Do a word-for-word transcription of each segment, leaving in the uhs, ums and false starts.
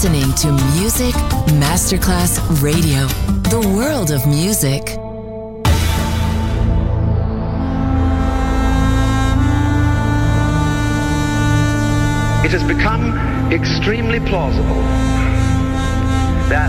listening to Music Masterclass Radio, the world of music. It has become extremely plausible that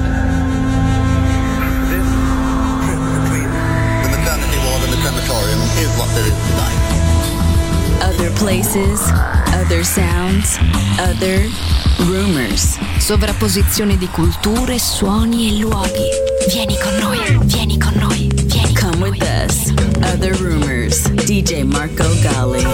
this trip between the maternity ward and the crematorium is what there is tonight. Other places, other sounds, other rumors. Sovrapposizione di culture, suoni e luoghi. Vieni con noi, vieni con noi, vieni con Come with us. Other Rumors. D J Marco Gally.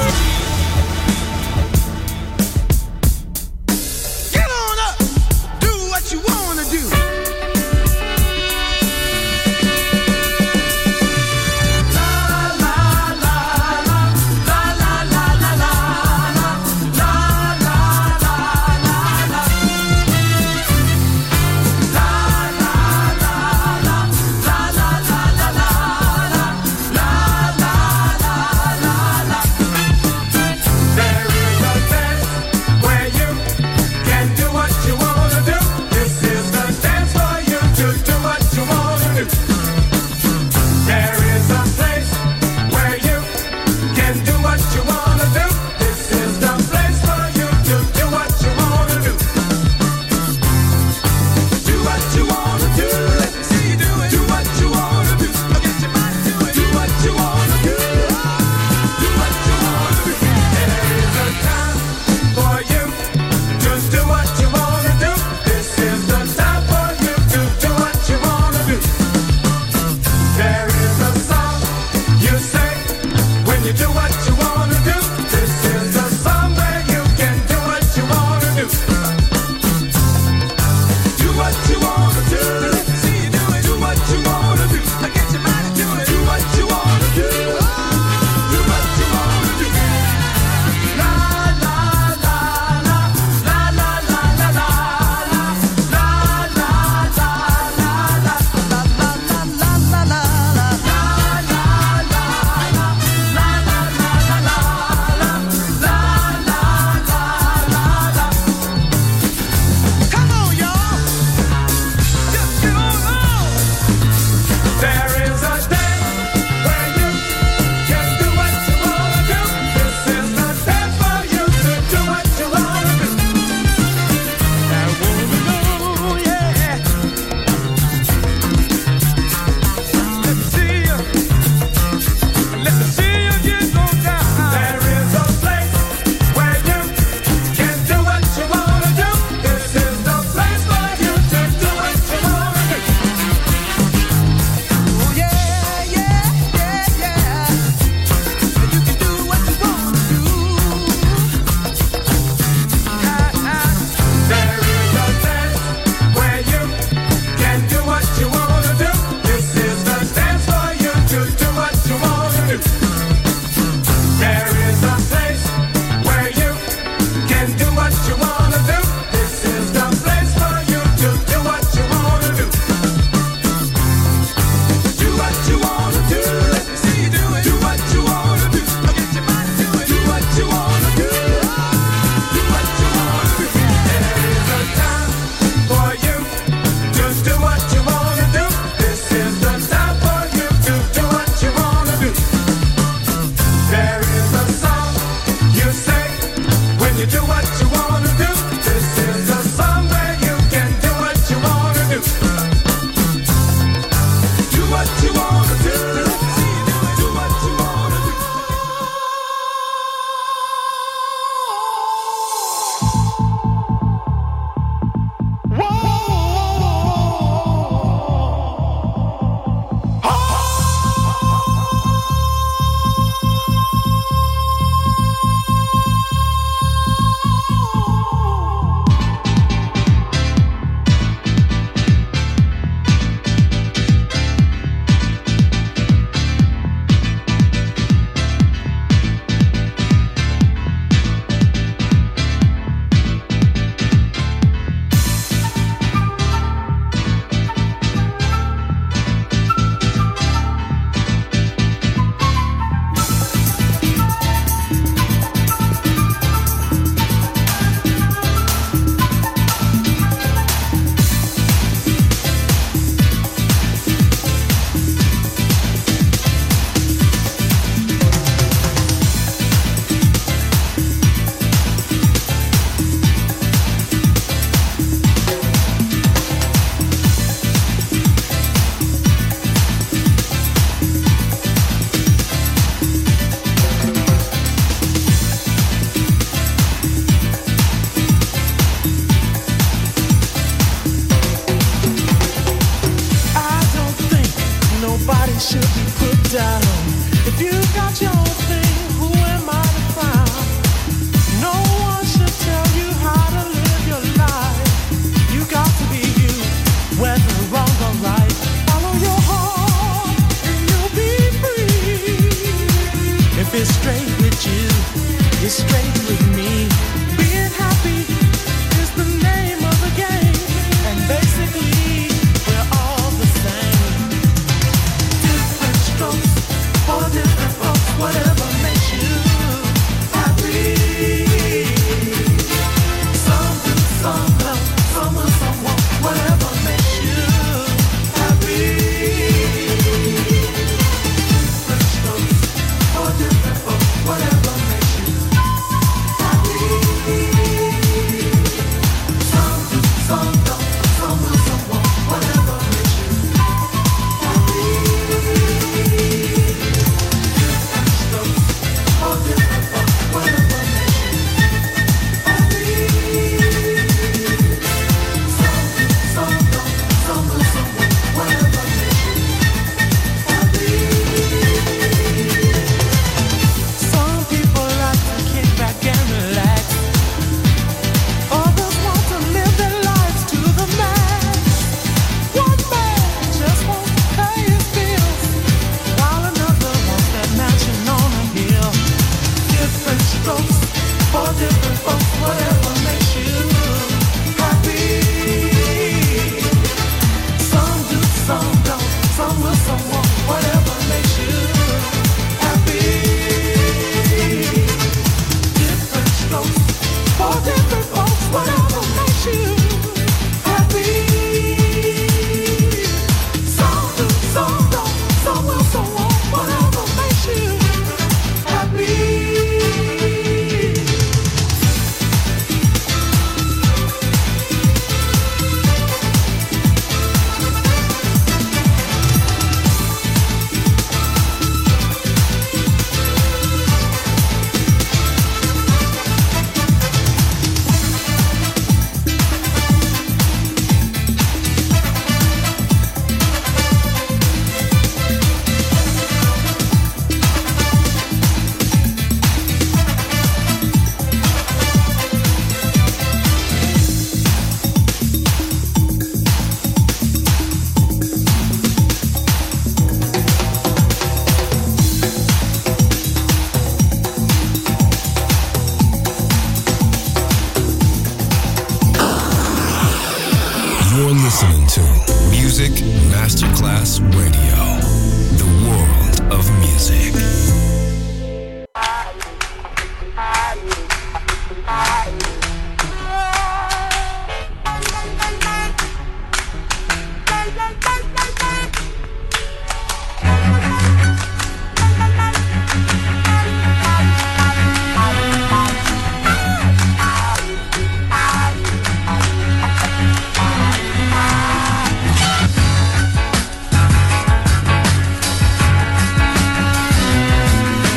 should be put down. If you got your thing, who am I to frown? No one should tell you how to live your life. You got to be you, whether wrong or right. Follow your heart and you'll be free. If it's straight with you, it's straight with me. Being happy is the name of the game, and basically we're all the same. Different strokes for different folks, whatever makes you happy. Some do, some don't, some will, some won't, whatever makes you happy. Different strokes for different folks, whatever makes you happy. Some do, some don't, some will, some won't, whatever makes you happy. Different strokes for different folks, whatever makes you happy. Some do, some don't, some will, some won't, whatever makes you happy. Some people like to kick back and relax. Others want to live their lives to the max. One man just wants to pay his bills, while another wants that mansion on a hill. Different strokes for different folks, whatever makes you happy. Some do, some don't, some will, some won't, whatever makes you happy. Different strokes for different folks, whatever makes you happy. Some do, some don't, some will, some won't, whatever makes you happy. You're listening to Music Masterclass Radio, the world of music. Thank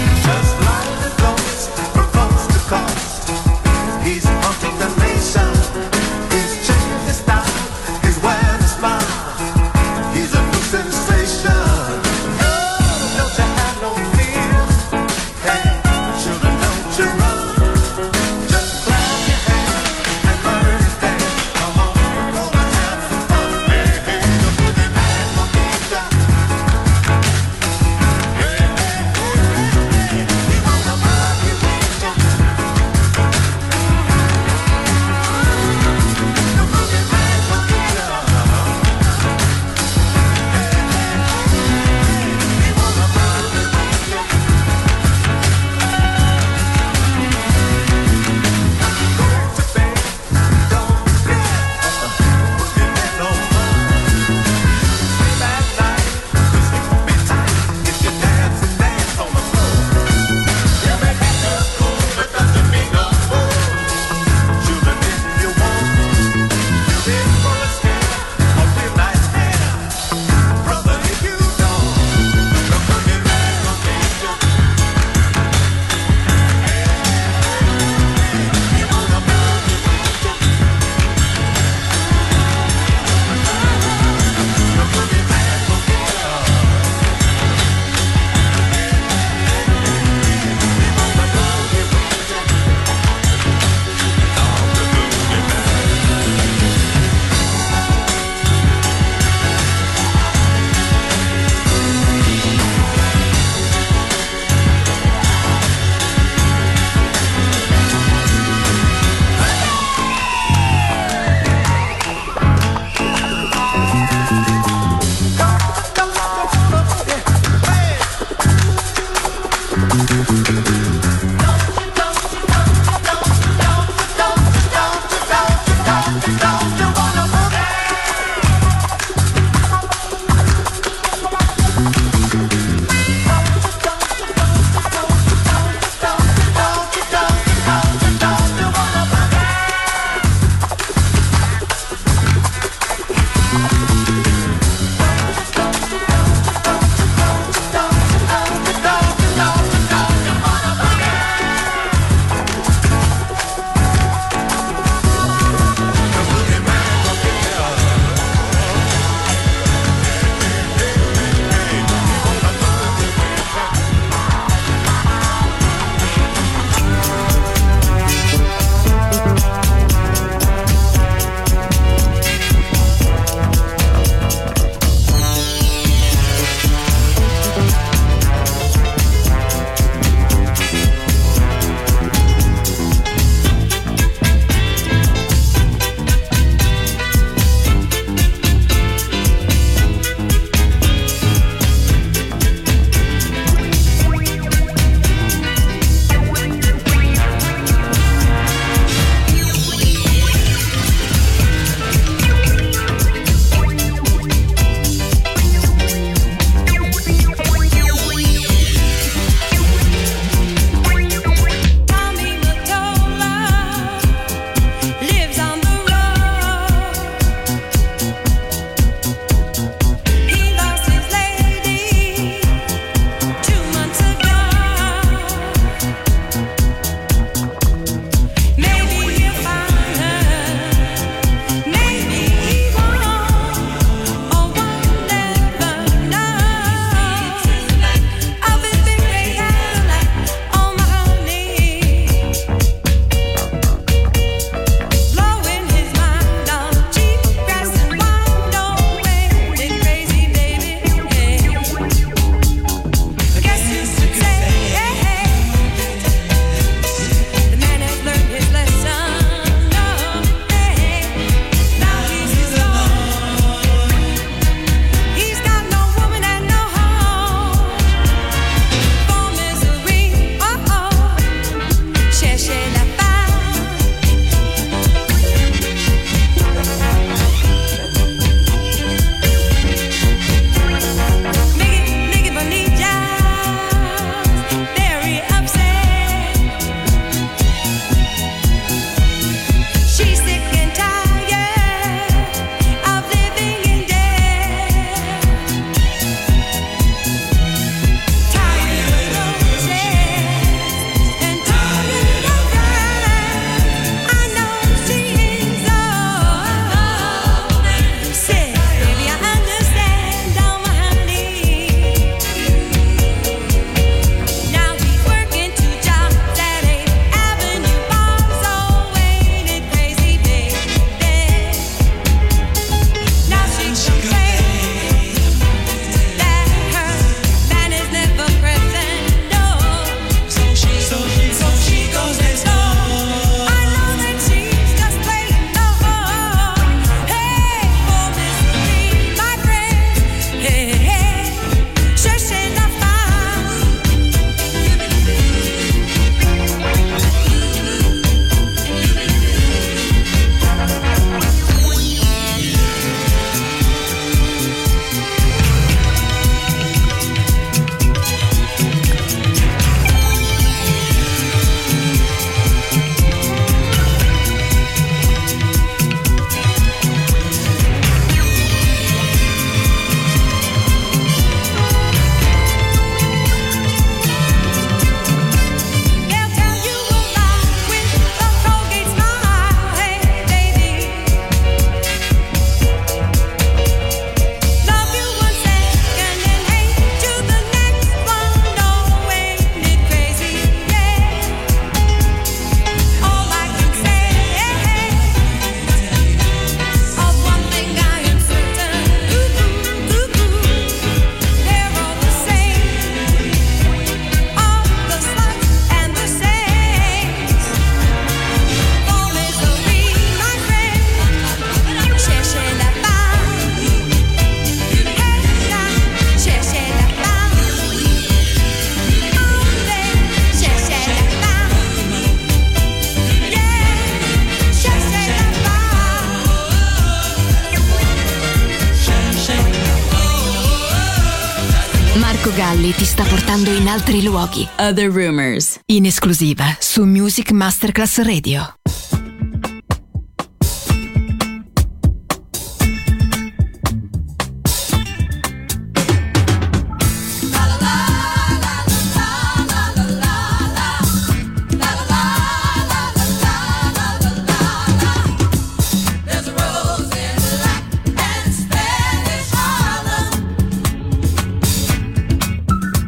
Marco Galli ti sta portando in altri luoghi. Other Rumors, in esclusiva su Music Masterclass Radio.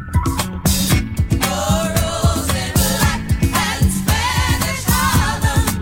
Harlem.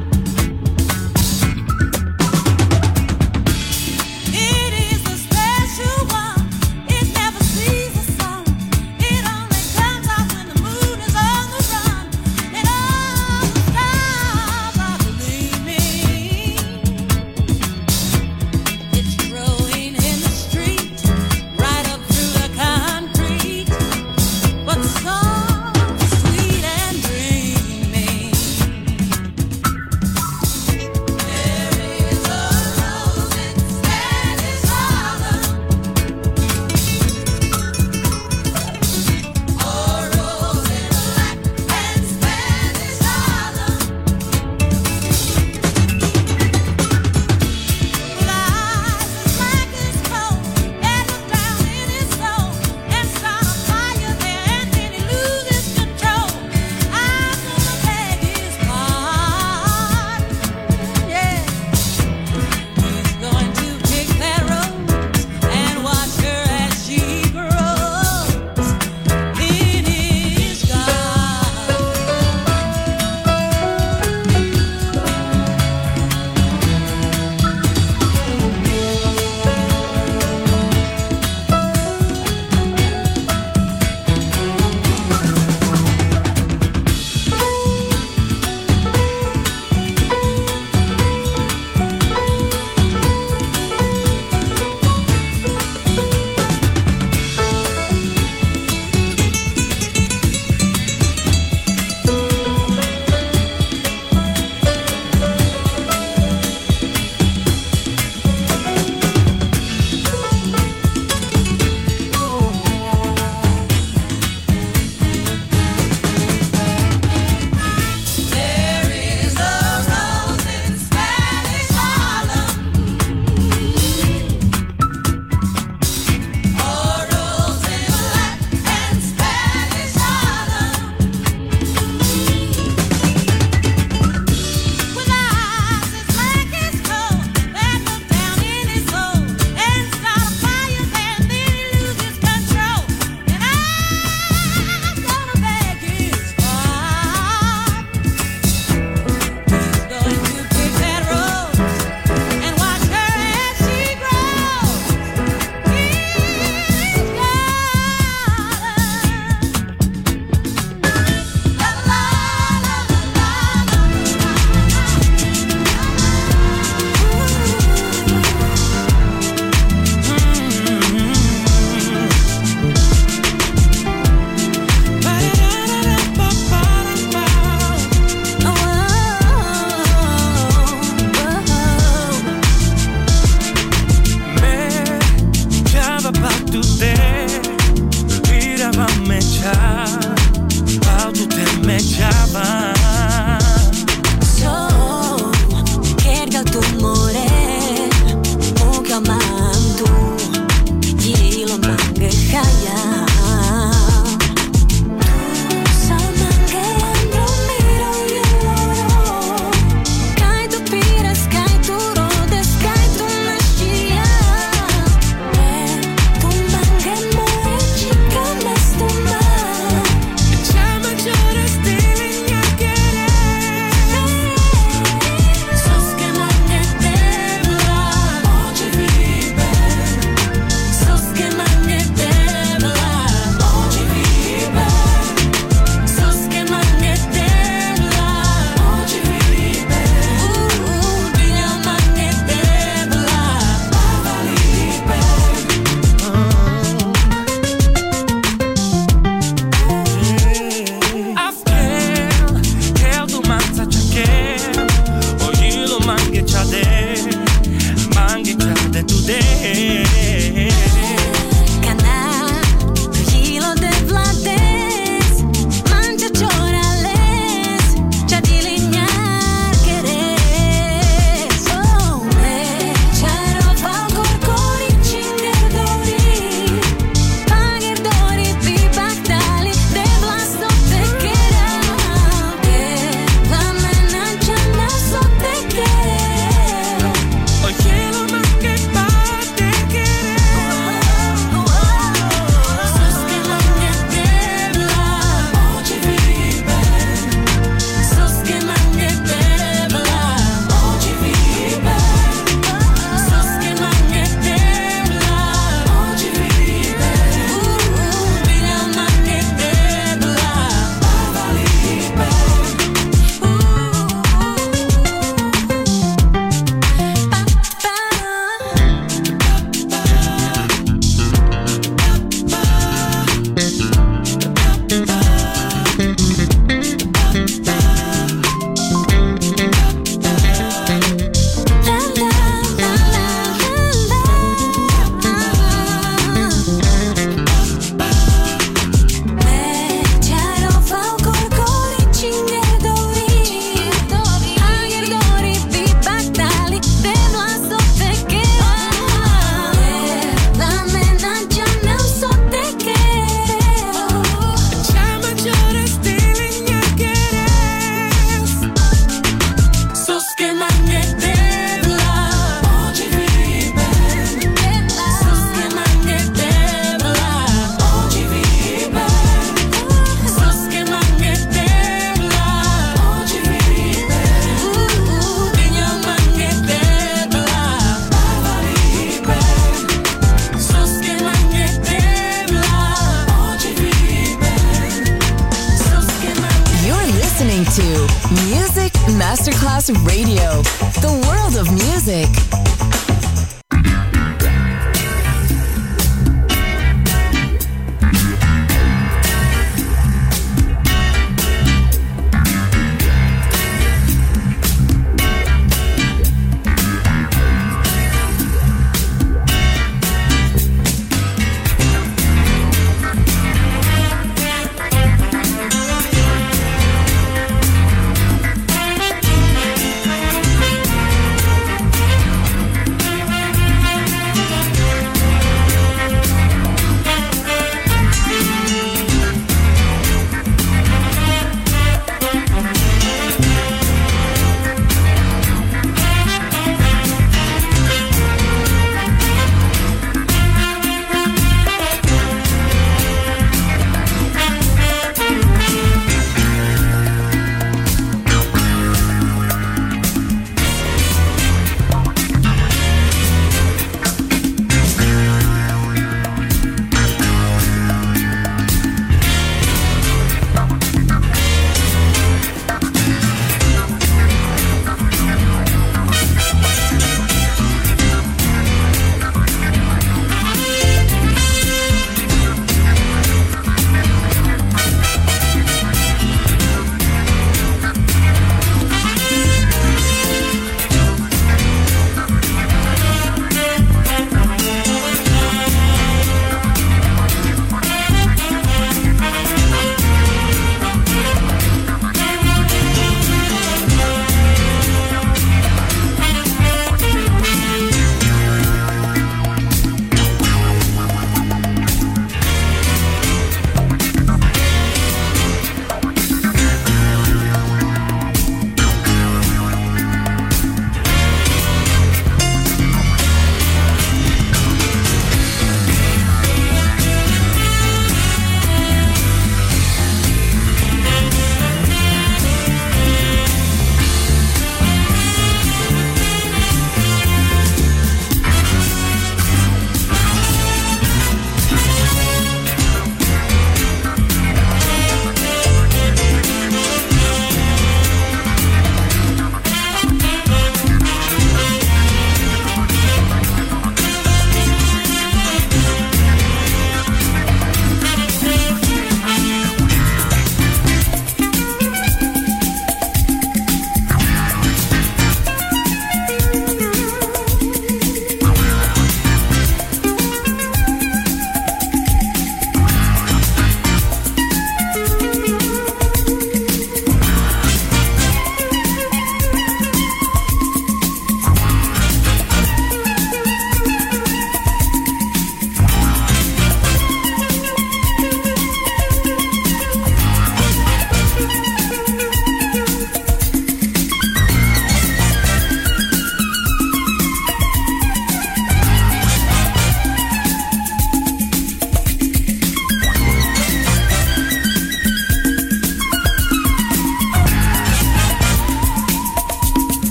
Masterclass Radio, the world of music.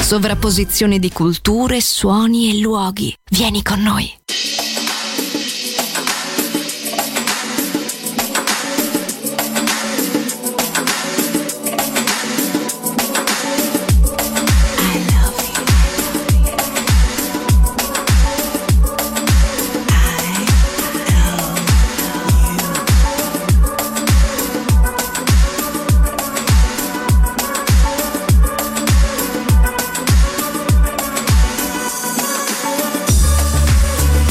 Sovrapposizione di culture, suoni e luoghi. Vieni con noi. I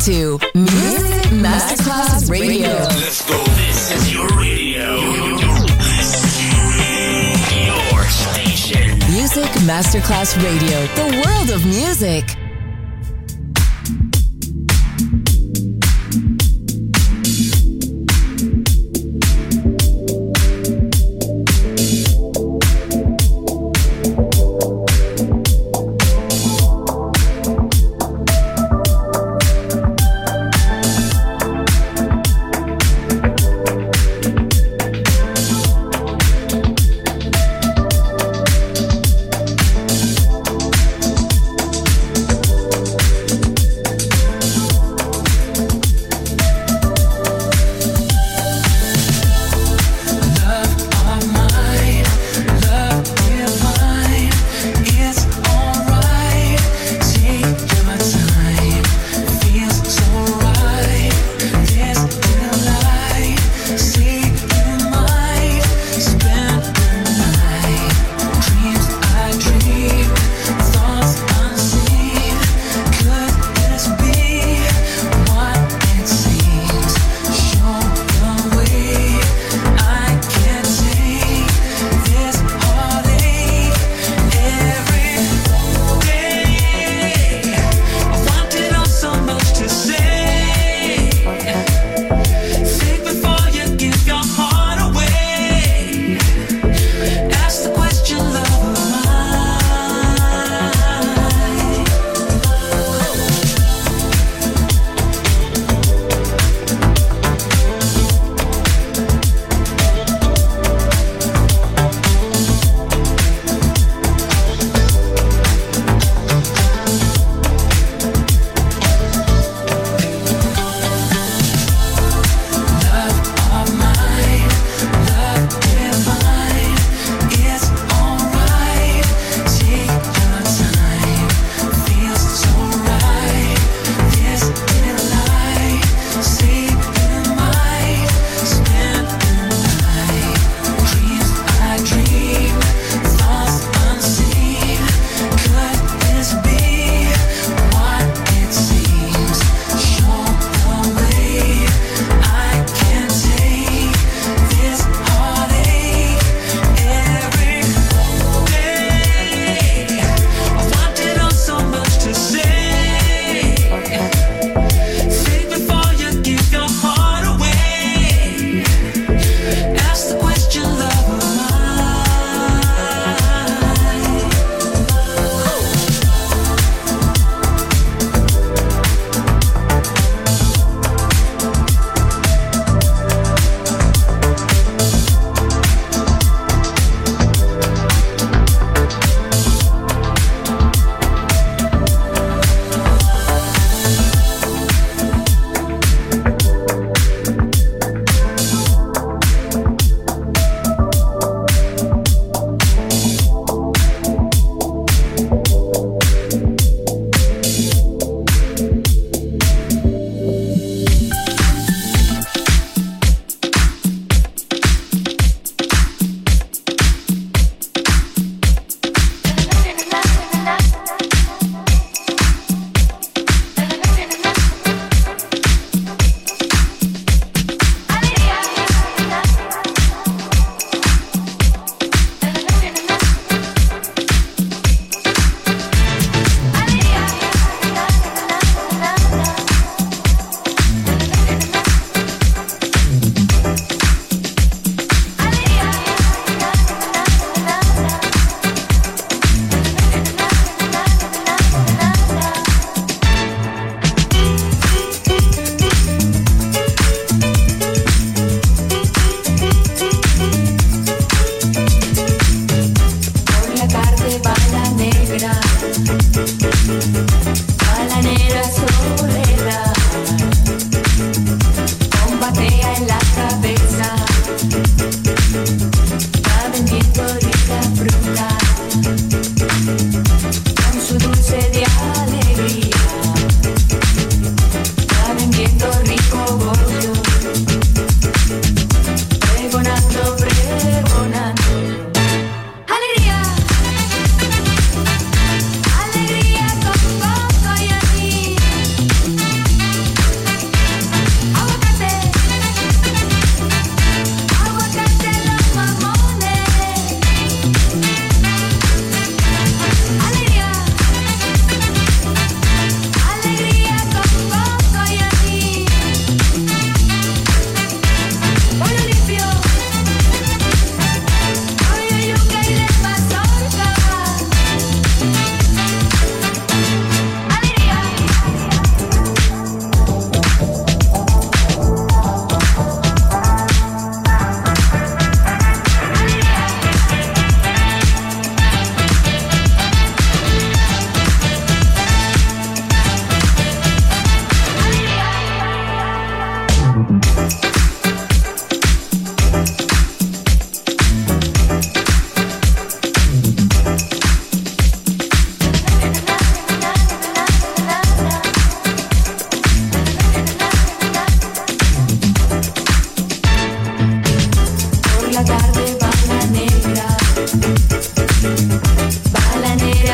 to Music Masterclass Radio. Let's go. This is your radio. Your station. Music Masterclass Radio. The world of music.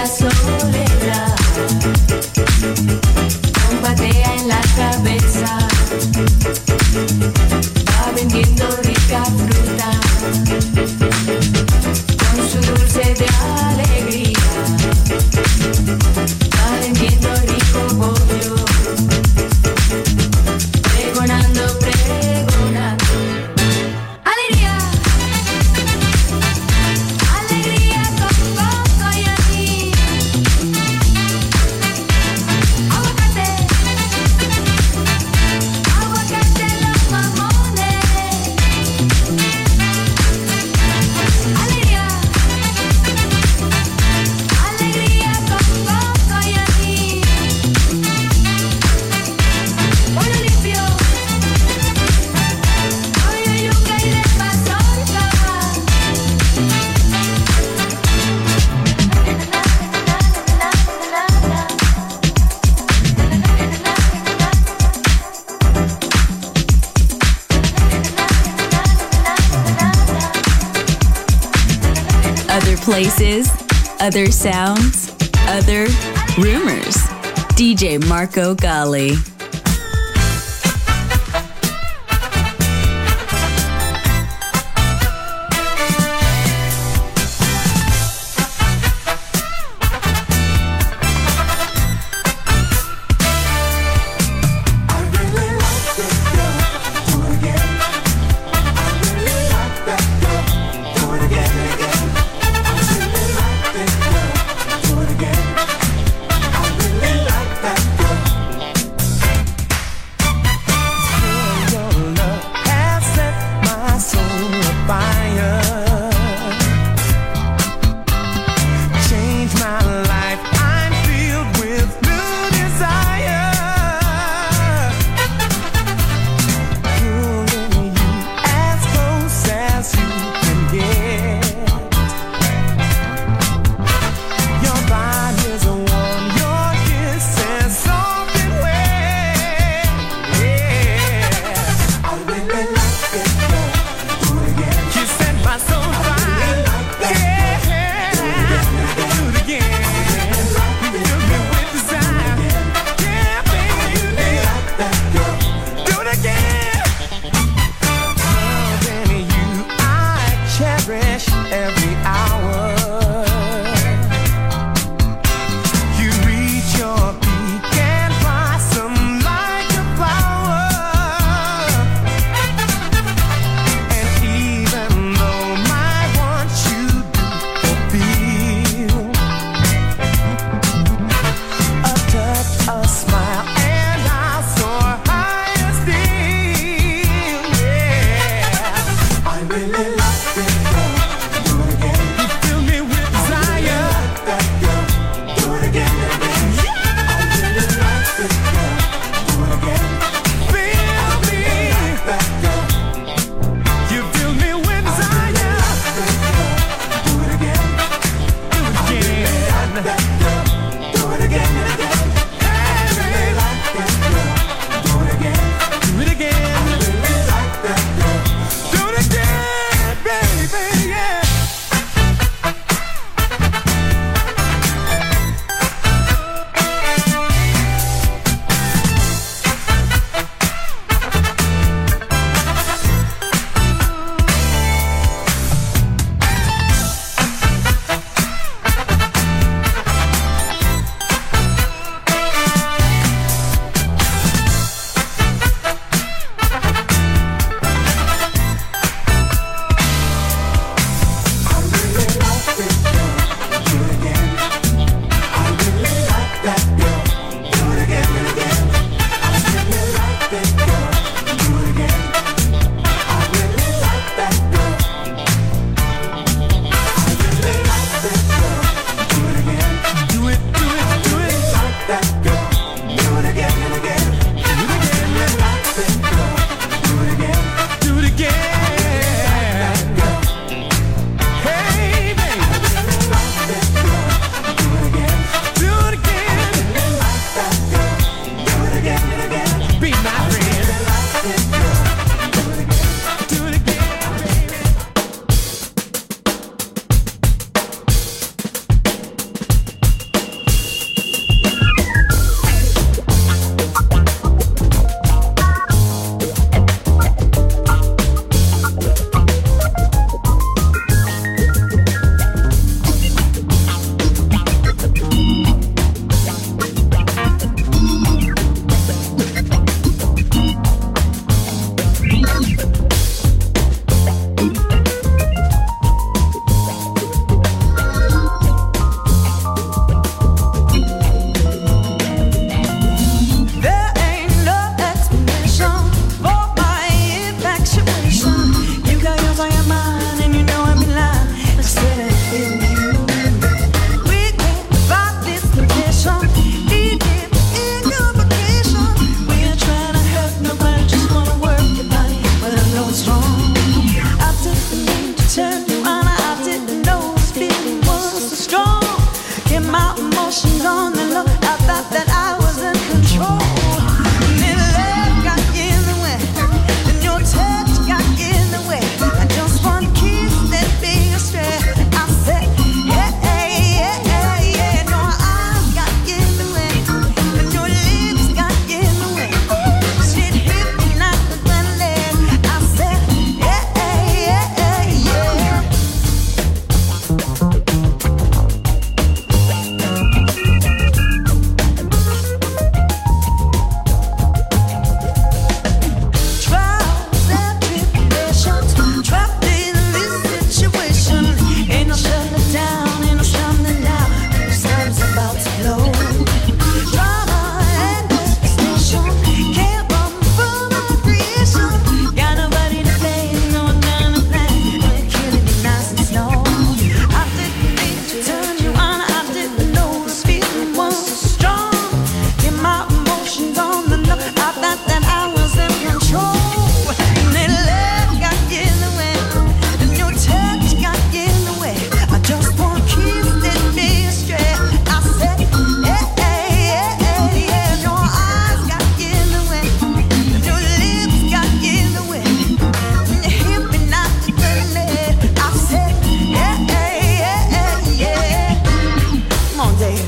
la soledad combatea en la cabeza, va vendiendo rica fruta con su dulce de alegría, va vendiendo rico pollo, pregonando, pregonando. Alegría, alegría con coco y anís, aguacate, aguacate los mamones. Alegría, alegría con coco y anís, pollo limpio, pollo yuca y de mazorca. Other places, other sounds, other rumors. D J Marco Gally. emotions on the low. I thought that I was in control. And then love got in the way, and your touch got in the way. I just one kiss that be astray. I said, yeah, yeah, yeah, yeah. No, eyes got in the way, and your lips got in the way. Shit hit me like the thunder. I said, yeah, yeah, yeah, yeah. Trials and tribulations, trapped in this situation. Ain't no shutting down, ain't no shutting down. The sun's about to blow. Drama and devastation can't run from my creation. Got nobody to blame, no one gonna blame. You're killing me nice and slow. I didn't mean to turn you on, I didn't know this feeling was so strong. Get my emotions on the low. I thought that I was in control. And then love got in the way, and your touch got in the way. I just want to kiss that be astray. I said, yeah, yeah, yeah, yeah. Your eyes got in the way, and your lips got in the way. When you hit me not to the I said, yeah, yeah, yeah, yeah. Come on, Dave.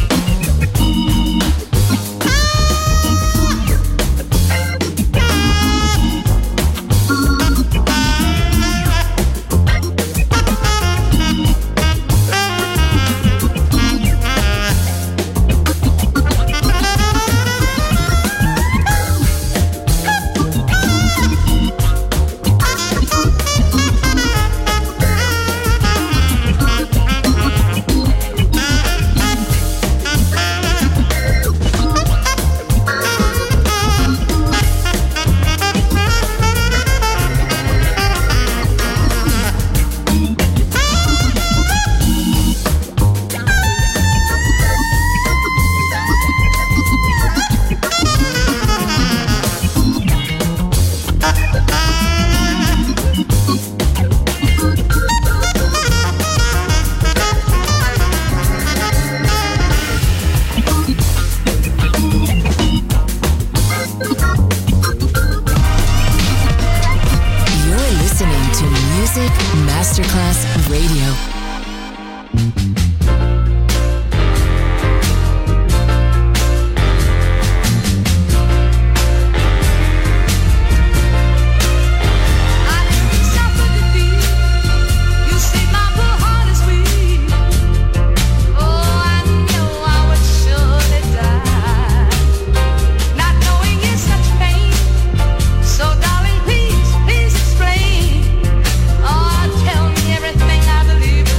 You're listening to Music Masterclass Radio. I didn't suffer defeat. You see, my poor heart is weak. Oh, I know I would surely die, not knowing it's such pain. So, darling, please, please explain. Oh, tell me everything I believe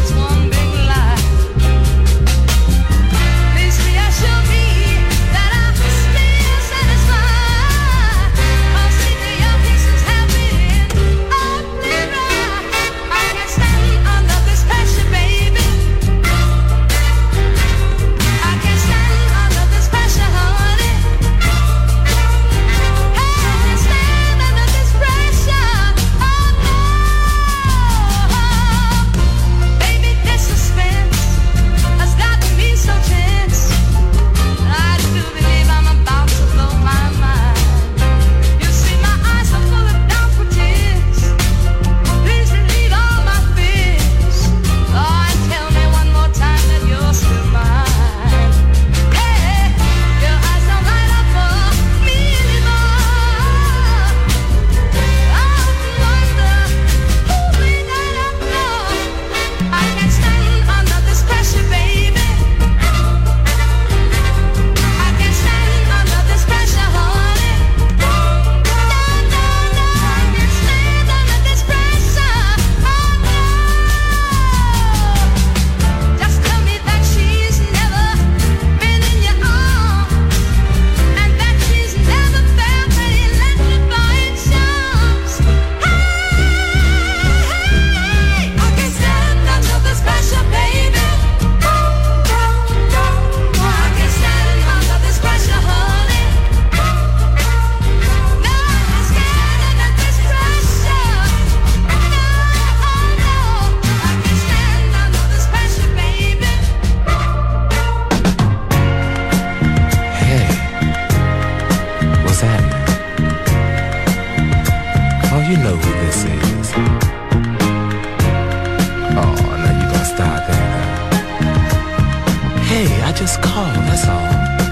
Hey, I just called, that's all.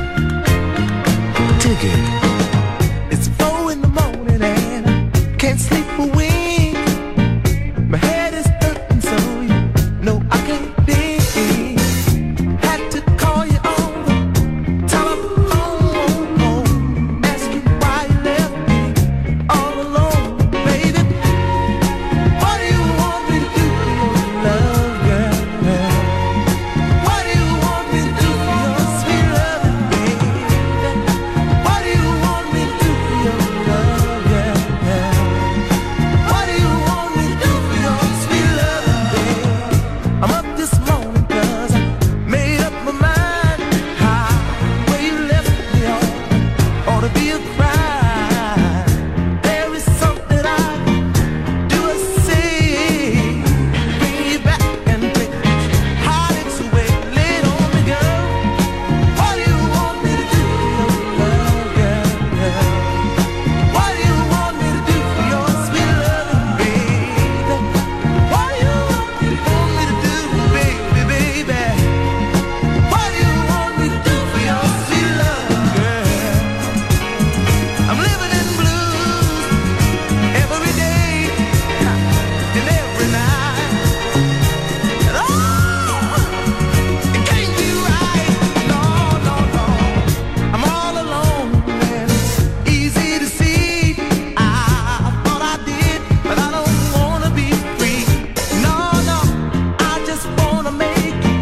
Dig it. It's four in the morning and I can't sleep a wink. My head is hurting so you know I can't think. Had to call you on the telephone, ask you why you left me all alone, baby. What do you want me to do for your love, girl? What do you want me to do for your sweet love, baby? What do you want me to do for your love, girl? What do you want me to do for your sweet love, baby? I'm up this morning 'cause I made up my mind. How where you left me on ought to be a crime. There is something I do or say, bring you back and take heartaches away. Lay it on me, girl. What do you want me to do for your love, girl? What do you want me to do for your sweet love, baby? What do you want me to do, baby, baby? What do you want me to do for your sweet love, girl? I'm living in blues every day and every night. And oh, it can't be right. No, no, no. I'm all alone and it's easy to see. I thought I did, but I don't wanna be free. No, no. I just wanna make you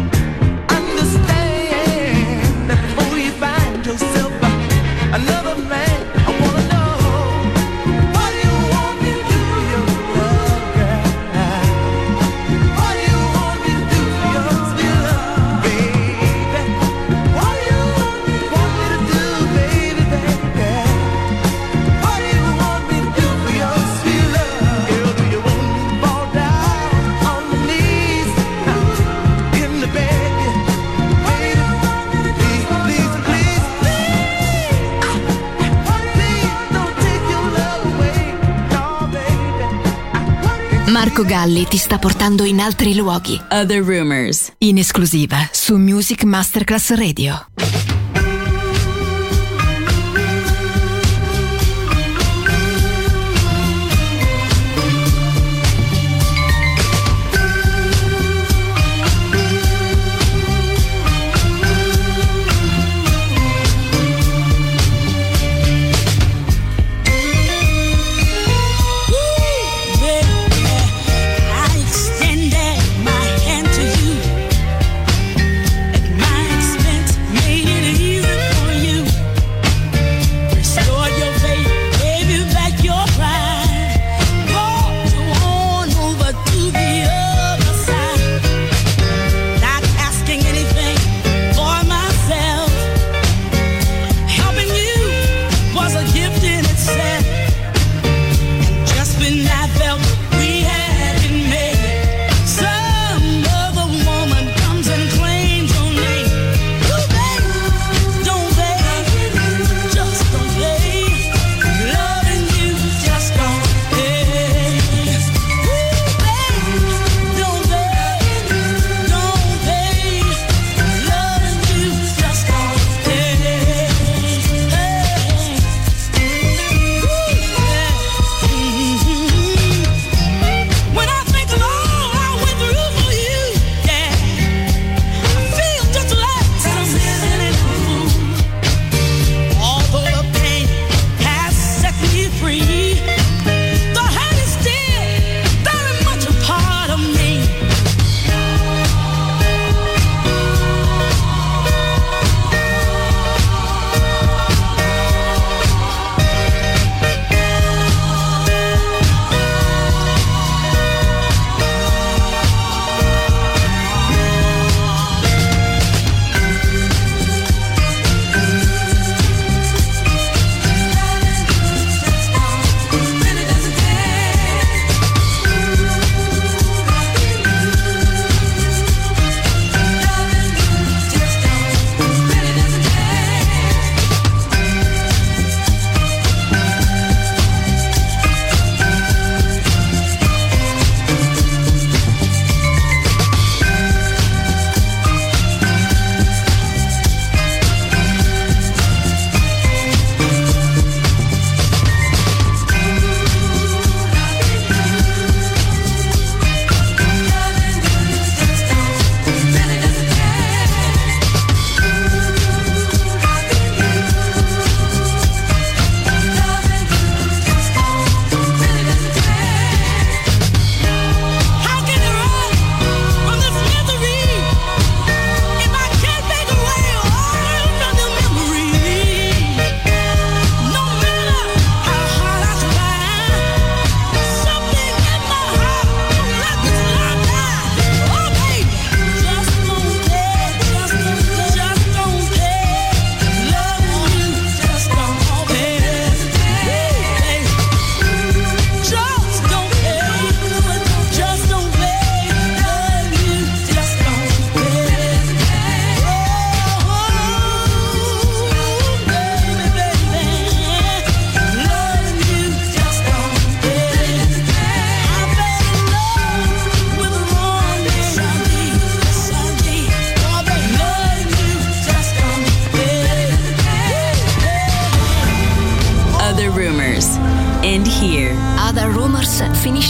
understand that before you find yourself another man, I wanna know, what do you want me to do for your love, girl? What do you want me to do for your sweet love, baby? What do you want me to do, baby, baby? What do you want me to do for your sweet love, girl? Do you want me to fall down on my knees in the bed, baby? Please, please, please, please don't take your love away, no, baby. Marco Galli ti sta portando in altri luoghi. Other Rumors, in esclusiva su Music Masterclass Radio. I extended my hand to you. At my expense, made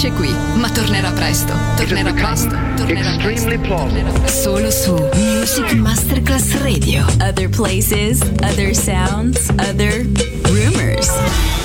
finisce qui, ma tornerà presto. Tornerà presto. Tornerà presto. Tornerà presto. Solo su Music Masterclass Radio. Other places, other sounds, other rumors.